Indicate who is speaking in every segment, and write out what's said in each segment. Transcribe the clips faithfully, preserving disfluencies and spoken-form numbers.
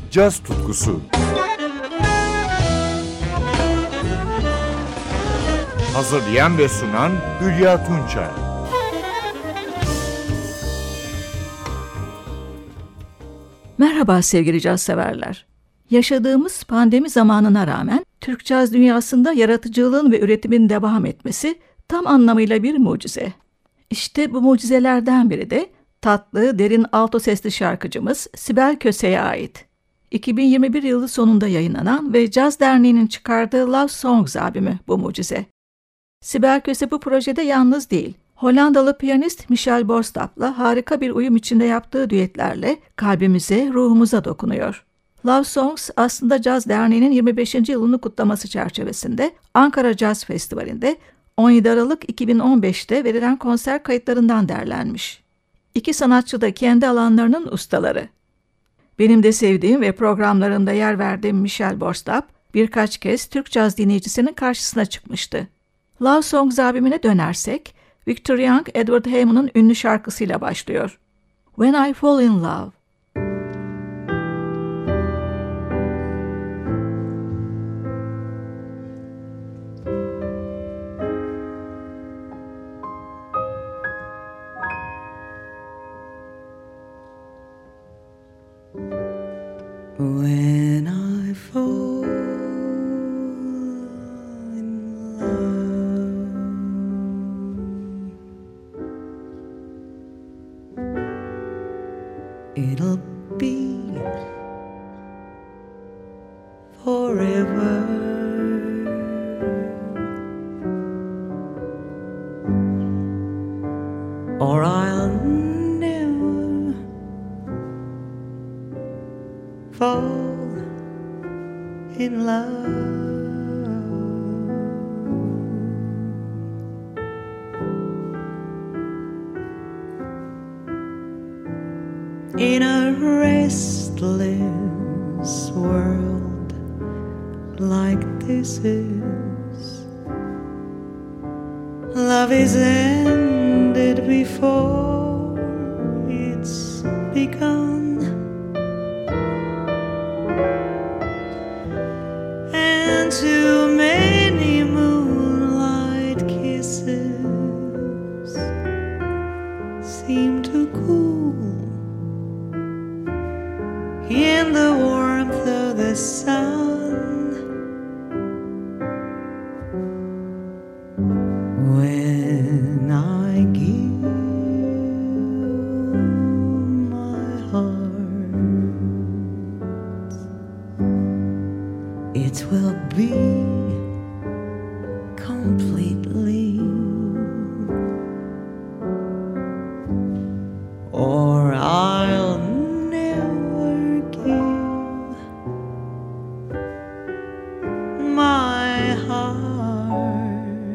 Speaker 1: caz tutkusu. Hazırlayan ve sunan Hülya Tunçay.
Speaker 2: Merhaba sevgili caz severler. Yaşadığımız pandemi zamanına rağmen Türk caz dünyasında yaratıcılığın ve üretimin devam etmesi tam anlamıyla bir mucize. İşte bu mucizelerden biri de tatlı, derin alto sesli şarkıcımız Sibel Köse'ye ait. iki bin yirmi bir yılı sonunda yayınlanan ve Caz Derneği'nin çıkardığı Love Songs albümü bu mucize. Sibel Köse bu projede yalnız değil. Hollandalı piyanist Michel Borstap'la harika bir uyum içinde yaptığı düetlerle kalbimize, ruhumuza dokunuyor. Love Songs aslında Caz Derneği'nin yirmi beşinci yılını kutlaması çerçevesinde Ankara Caz Festivali'nde on yedi Aralık iki bin on beşte verilen konser kayıtlarından derlenmiş. İki sanatçı da kendi alanlarının ustaları. Benim de sevdiğim ve programlarımda yer verdiğim Michel Borstap birkaç kez Türk caz dinleyicisinin karşısına çıkmıştı. Love Songs albümüne dönersek, Victor Young, Edward Hayman'ın ünlü şarkısıyla başlıyor. When I Fall in Love.
Speaker 3: When I fall in love, it'll be forever. Or I'll never fall in love. In a restless world like this is, love is ended before it's begun. And too many moonlight kisses seem to cool in the warmth of the sun. When I give my heart, it will be completely, or I'll never give my heart.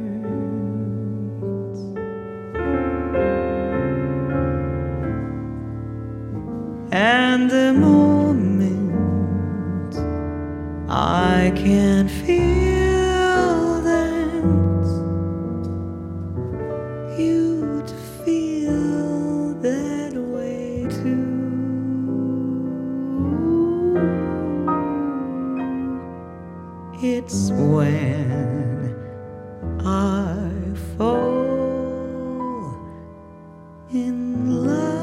Speaker 3: And the moment I can feel that you'd feel that way too. It's when I fall in love.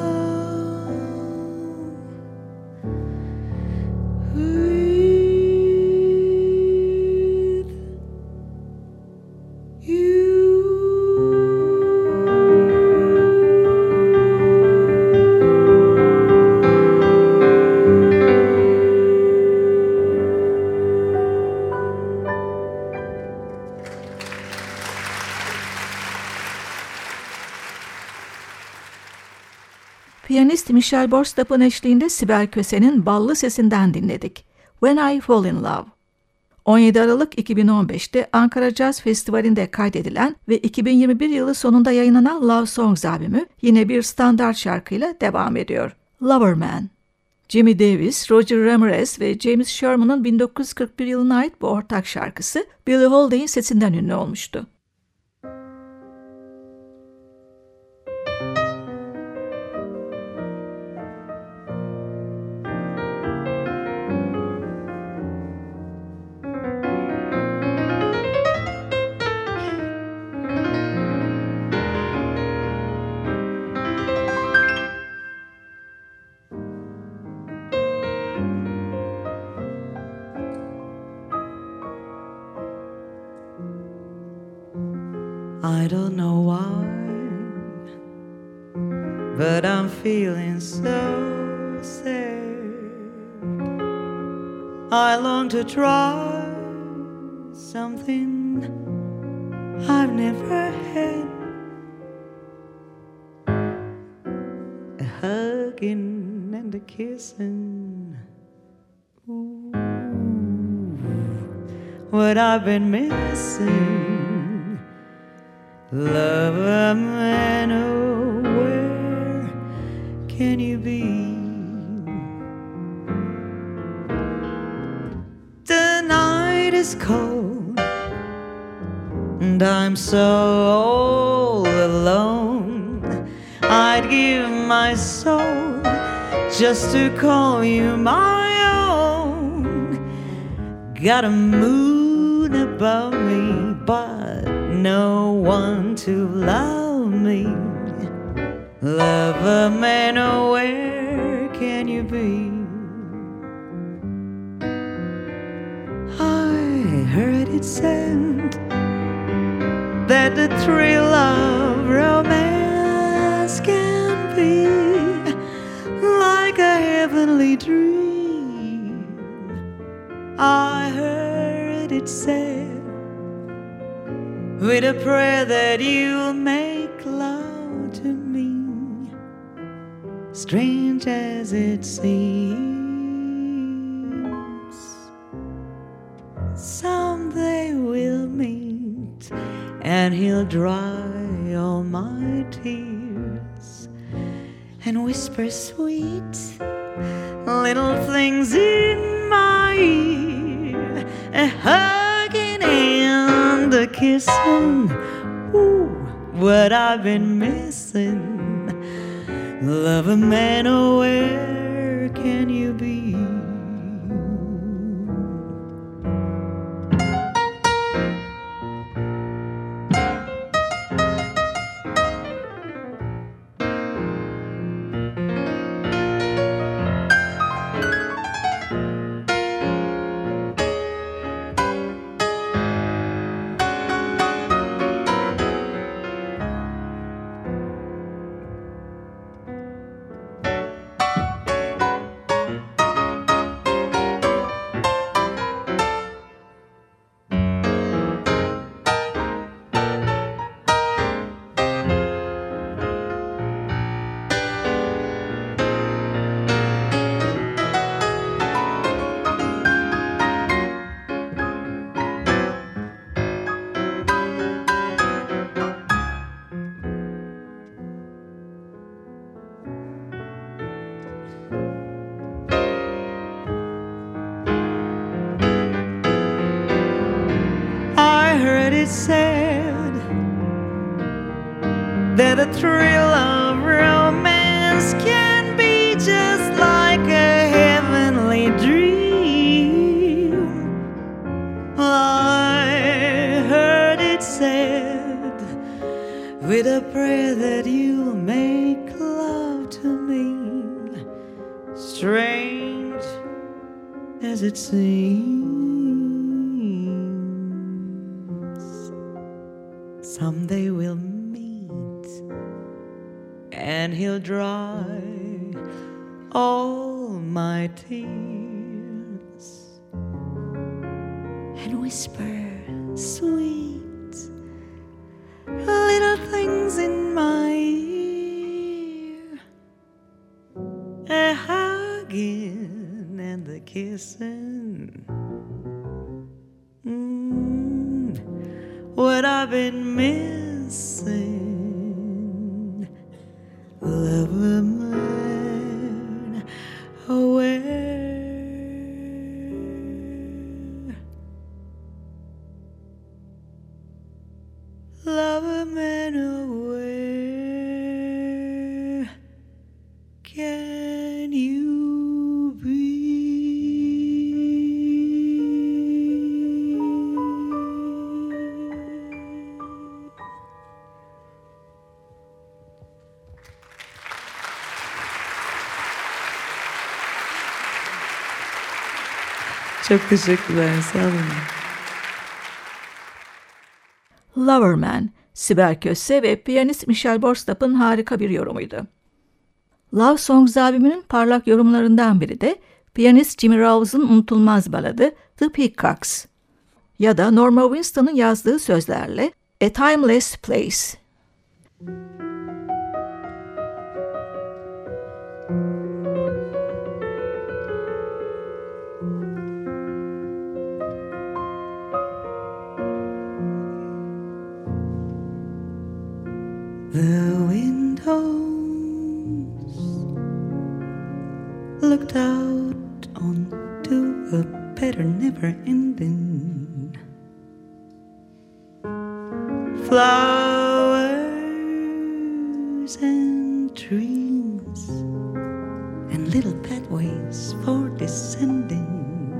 Speaker 2: Piyanist Michel Borstap'ın eşliğinde Sibel Köse'nin ballı sesinden dinledik. When I Fall in Love. on yedi Aralık iki bin on beşte Ankara Caz Festivali'nde kaydedilen ve iki bin yirmi bir yılı sonunda yayınlanan Love Songs albümü yine bir standart şarkıyla devam ediyor. Loverman. Jimmy Davis, Roger Ramirez ve James Sherman'ın bin dokuz yüz kırk bir yılına ait bu ortak şarkısı Billie Holiday'in sesinden ünlü olmuştu.
Speaker 3: I don't know why, but I'm feeling so sad. I long to try something I've never had. A hugging and a kissing. Ooh, what I've been missing. Lover man, oh, where can you be? The night is cold and I'm so all alone. I'd give my soul just to call you my own. Got a moon above me, but no one to love me. Lover man, oh, where can you be? I heard it said that the thrill of romance can be like a heavenly dream. I heard it said with a prayer that you'll make love to me, strange as it seems. Someday we'll meet and he'll dry all my tears and whisper sweet little things in my ear, a hugging and a kissing. Ooh, what I've been missing. Lover man, oh, where can you be? It said that the thrill of romance can be just like a heavenly dream. I heard it said with a prayer that you'll make love to me, strange as it seems. Someday we'll meet and he'll dry all my tears and whisper sweet little things in my ear, a hugging and a kissing. Mm, what I've been missing. Lover man, oh, where? Lover man, oh, where can you be? Çok teşekkürler, sağ olun.
Speaker 2: Loverman, Sibel Köse ve piyanist Michelle Borstap'ın harika bir yorumuydu. Love Songs albümünün parlak yorumlarından biri de piyanist Jimmy Rawes'ın unutulmaz baladı The Peacocks ya da Norma Winston'ın yazdığı sözlerle A Timeless Place.
Speaker 3: The windows looked out onto a better never-ending flowers and trees and little pathways for descending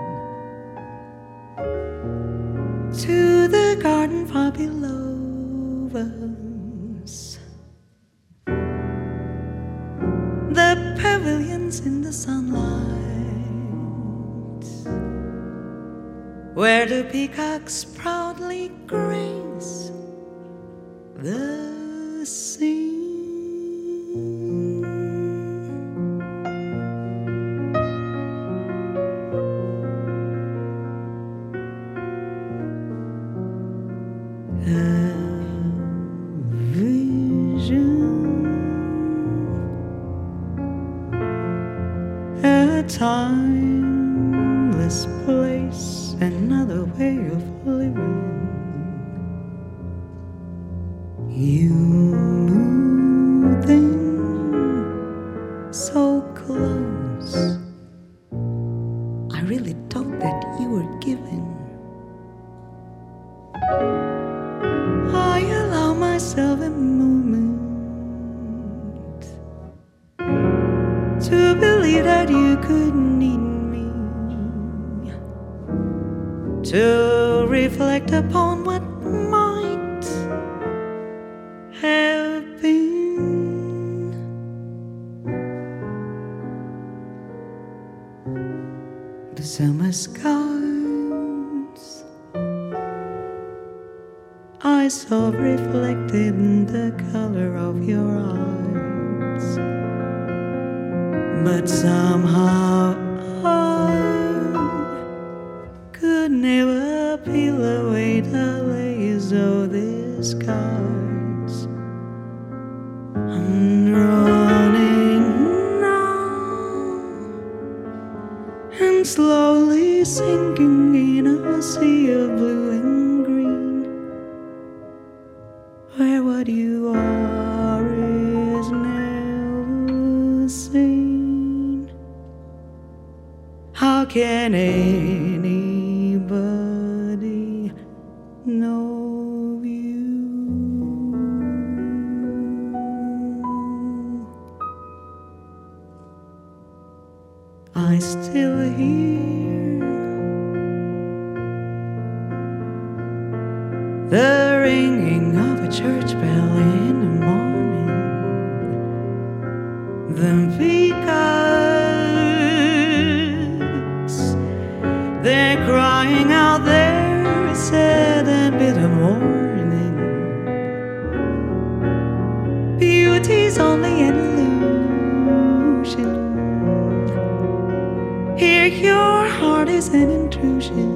Speaker 3: to the garden far below us. The pavilions in the sunlight, where the peacocks proudly graze the scene. A vision, a timeless place, another way of living. You moved in so close, I really thought that you were giving. I allow myself a moment to believe that you could need me, to reflect upon what might have been. The summer skies I saw reflected in the color of your eyes, but somehow I could never peel away the layers of the skies. I'm drowning now and slowly sinking in a sea of blue and green, where what you are is never seen. How can anybody know you? I still hear the ringing of a church bell in the morning. The peacocks, they're crying out their sad and bitter mourning. Beauty's only an illusion. Here your heart is an intrusion.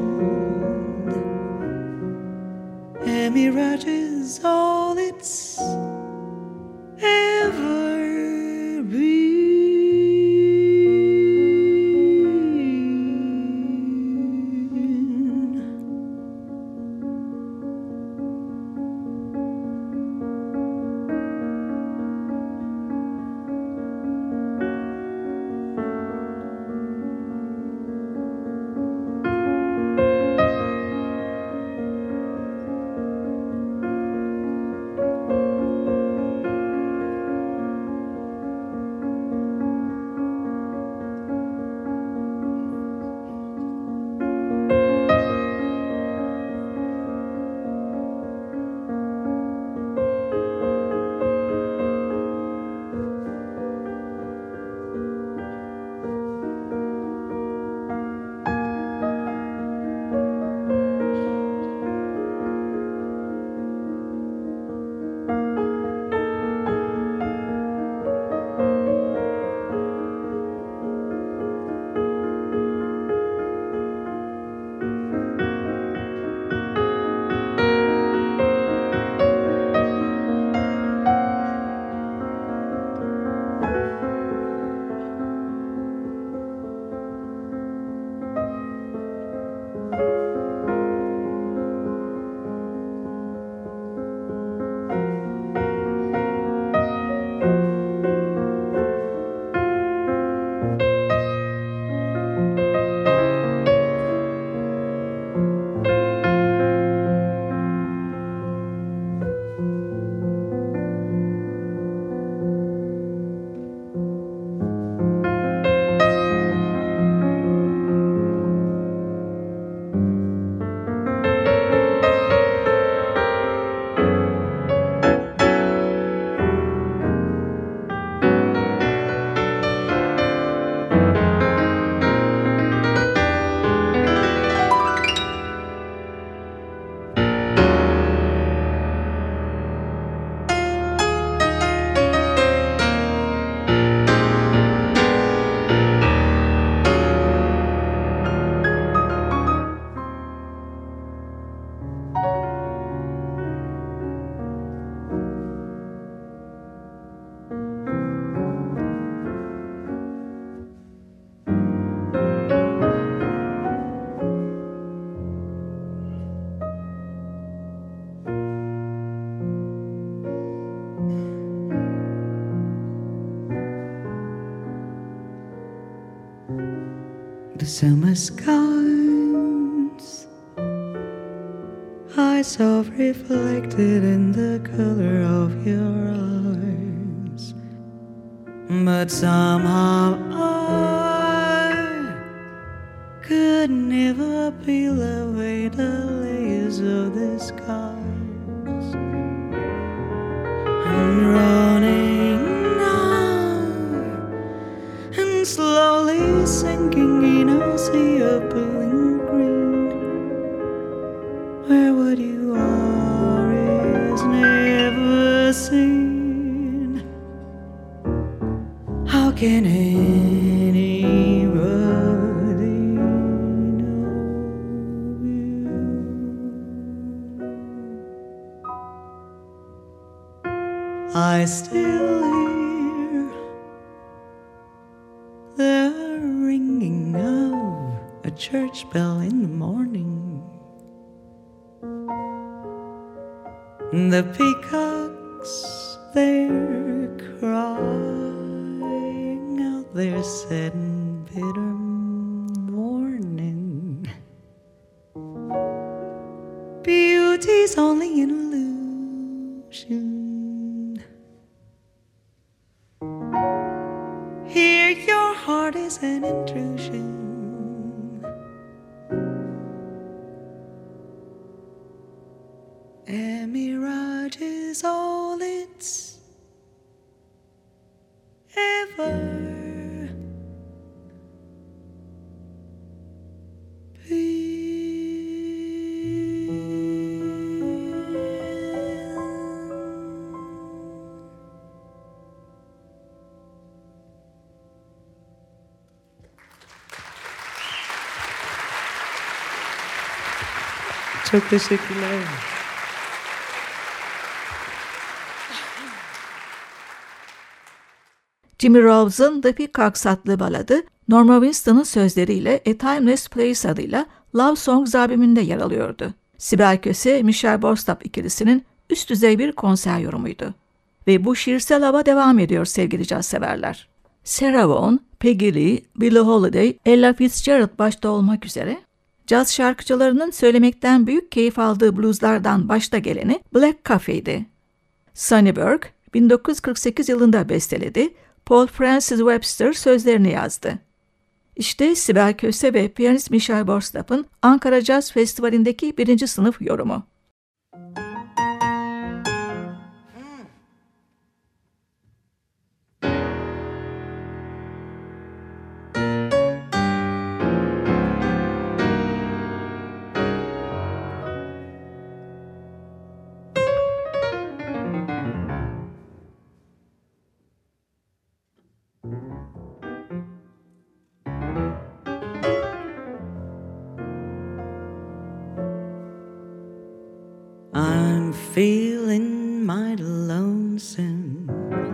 Speaker 3: A mirage is all it's ever been. the summer skies I saw reflected in the color of your eyes. But somehow I could never peel away the layers of the skies. I'm running now and slowly sinking in a sea of blue and green, where what you are is never seen. How can anybody know you? I still hear the ringing of a church bell in the morning. The peacocks, they're crying out their sad and bitter warning. Beauty's only an illusion. Here your heart is an intrusion. A mirage is all it's ever Çok teşekkürler.
Speaker 2: Jimmy Roves'ın The Peacocks adlı baladı, Norma Winstone'ın sözleriyle A Timeless Place adıyla Love Songs albümünde yer alıyordu. Sibel Köse, Michelle Borstab ikilisinin üst düzey bir konser yorumuydu. Ve bu şiirsel hava devam ediyor sevgili caz severler. Sarah Vaughan, Peggy Lee, Billie Holiday, Ella Fitzgerald başta olmak üzere caz şarkıcılarının söylemekten büyük keyif aldığı blueslardan başta geleni Black Coffee'di. Sonny Burke bin dokuz yüz kırk sekiz yılında besteledi, Paul Francis Webster sözlerini yazdı. İşte Sibel Köse ve piyanist Michelle Borstab'ın Ankara Caz Festivali'ndeki birinci sınıf yorumu.
Speaker 3: I'm feeling mighty lonesome,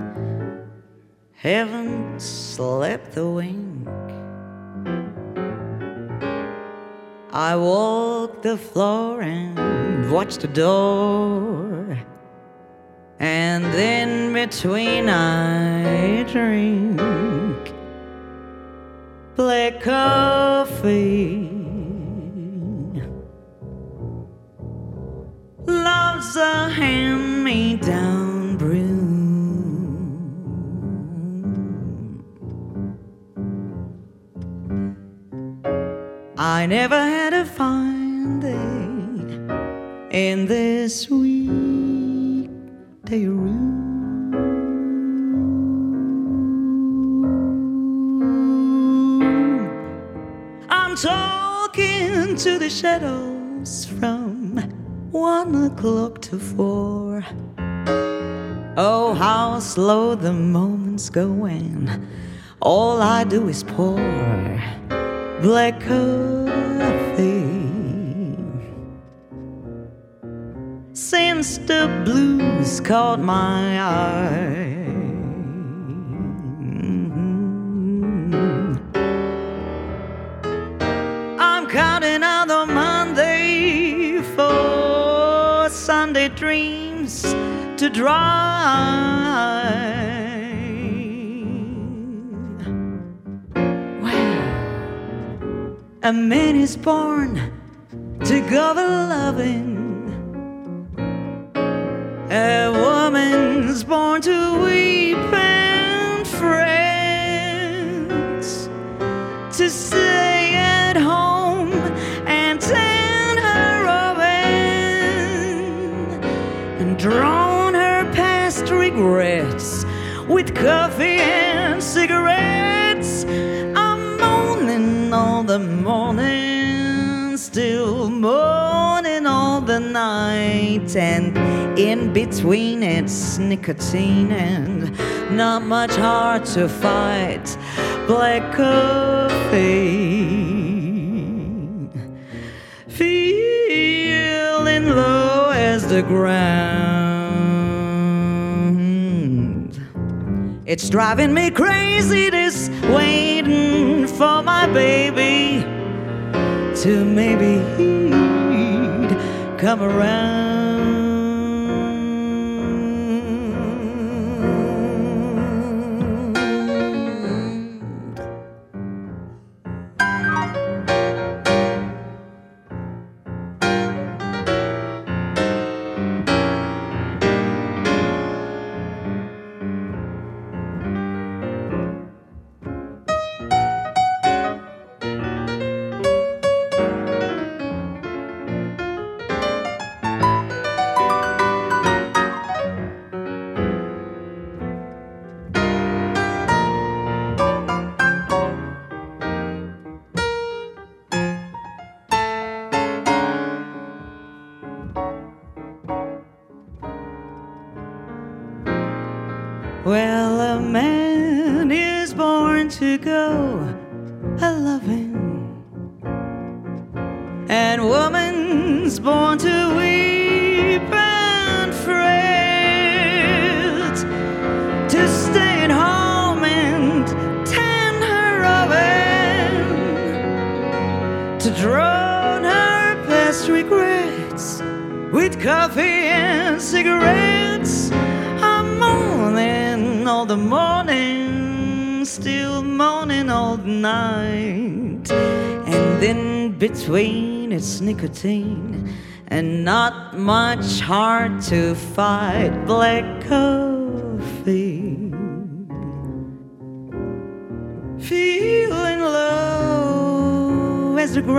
Speaker 3: haven't slept a wink. I walk the floor and watch the door, and in between I drink black coffee. Love's a hand-me-down brew. I never had a fine day in this weekday room. I'm talking to the shadows from one o'clock to four. Oh, how slow the moments go, and all I do is pour black coffee. Since the blues caught my eye, I'm counting out the Monday for Sunday dreams to dry. Well, A man is born to go loving. A woman's born to weep and fret, to stay at home and tend her oven, and drown her past regrets with coffee and cigarettes. I'm moaning all the morning, still moaning all the night, and in between it's nicotine and not much hard to fight. Black coffee, feeling low as the ground. It's driving me crazy, this waiting for my baby to maybe he'd come around. Well, a man is born to go a-loving, and woman's born to weep and fret, to stay at home and tend her oven, to drown her past regrets with coffee and cigarettes. I'm moaning all the morning, still moaning all the night, and in between it's nicotine and not much hard to fight. Black coffee, feeling low as the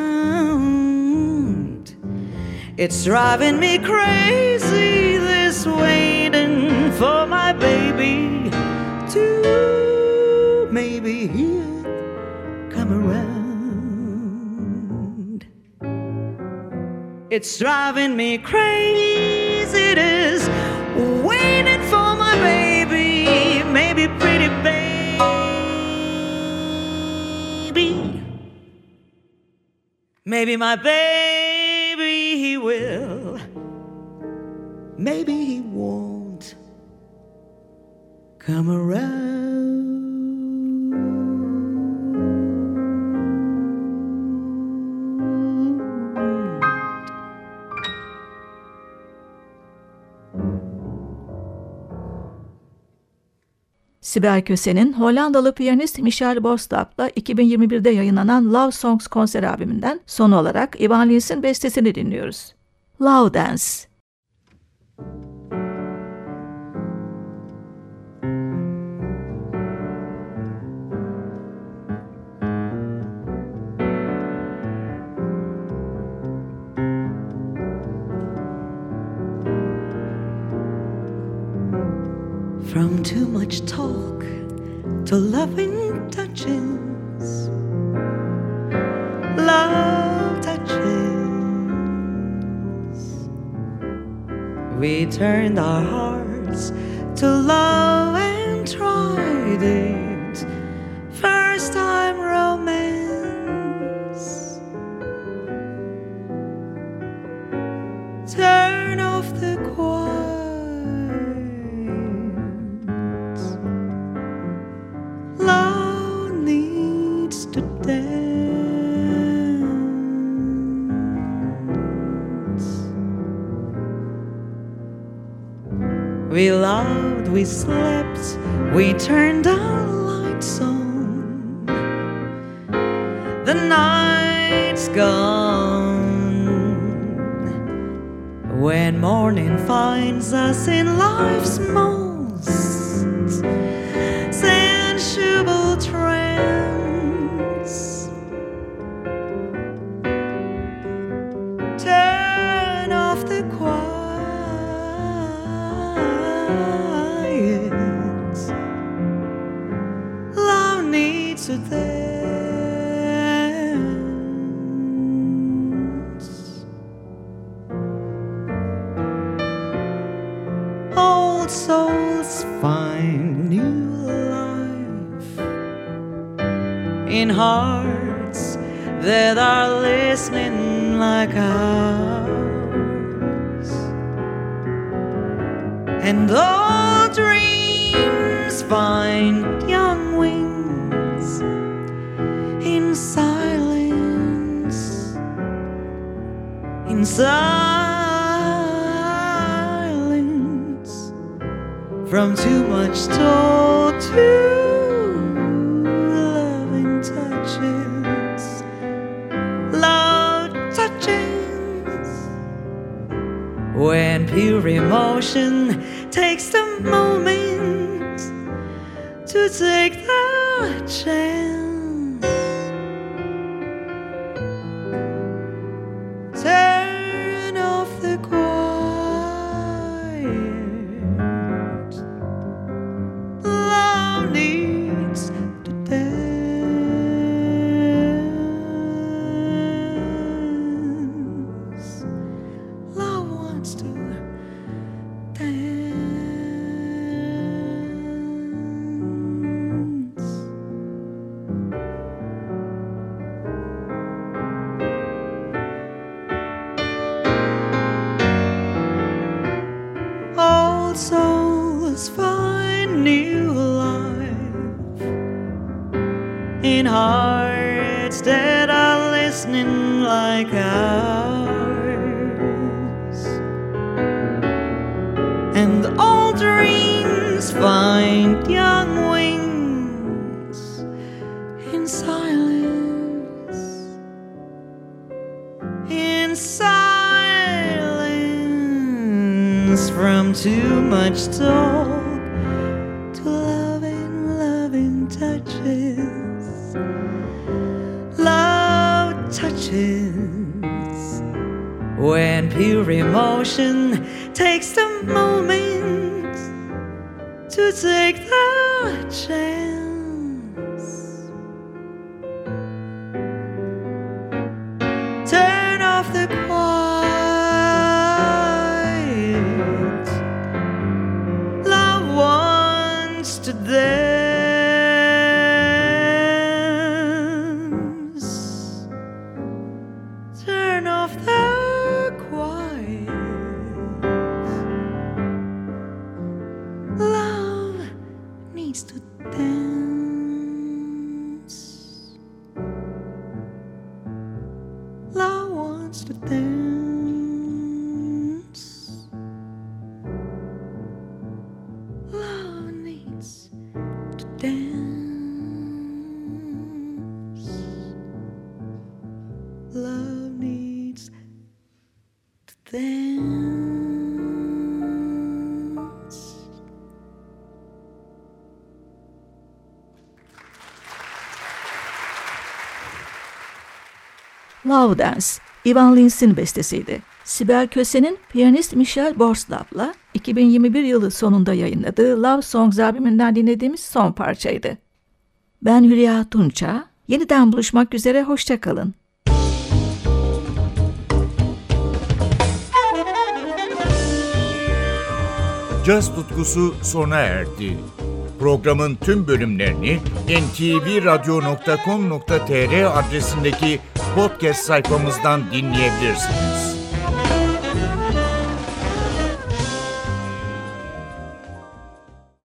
Speaker 3: ground. It's driving me crazy, this waiting for my baby to maybe he'll come around. It's driving me crazy, this waiting for my baby, maybe pretty baby, maybe my baby he will, maybe he won't come around.
Speaker 2: Sibel Köse'nin Hollandalı piyanist Michel Bostap'la iki bin yirmi birde yayınlanan Love Songs konser albümünden son olarak Ivan Lins'in bestesini dinliyoruz. Love Dance.
Speaker 3: From too much talk to loving touches, love touches. We turned our hearts to love and tried it. First time romance. Turn off the quiet. Love needs to dance. We loved, we slept, we turned our lights on. The night it's gone. When morning finds us in life's most sensual trance, turn off the quiet. Love needs to dance. Old souls find new life in hearts that are listening like ours, and all dreams find young wings in silence, in silence, from too much talk to loving touches, love touches, when pure emotion takes the moment to take the chance. Turn off the quiet. Love needs to dance. Love wants to dance. Old souls find new life in hearts that are listening like ours, and all dreams find young wings in silence, in silence, from too much talk to loving, loving touches, love touches, when pure emotion takes the moment to take the chance. Turn off the quiet. Love wants to dance. Turn off the quiet. Love needs to dance. Love wants to dance. Love needs to dance. Love needs to dance.
Speaker 2: Love Dance, Ivan Lins'in bestesiydi. Sibel Köse'nin piyanist Michelle Borslav'la iki bin yirmi bir yılı sonunda yayınladığı Love Songs albümünden dinlediğimiz son parçaydı. Ben Hülya Tunça, yeniden buluşmak üzere, hoşça kalın.
Speaker 1: Caz tutkusu sona erdi. Programın tüm bölümlerini en te ve radyo nokta com nokta tr adresindeki podcast sayfamızdan dinleyebilirsiniz.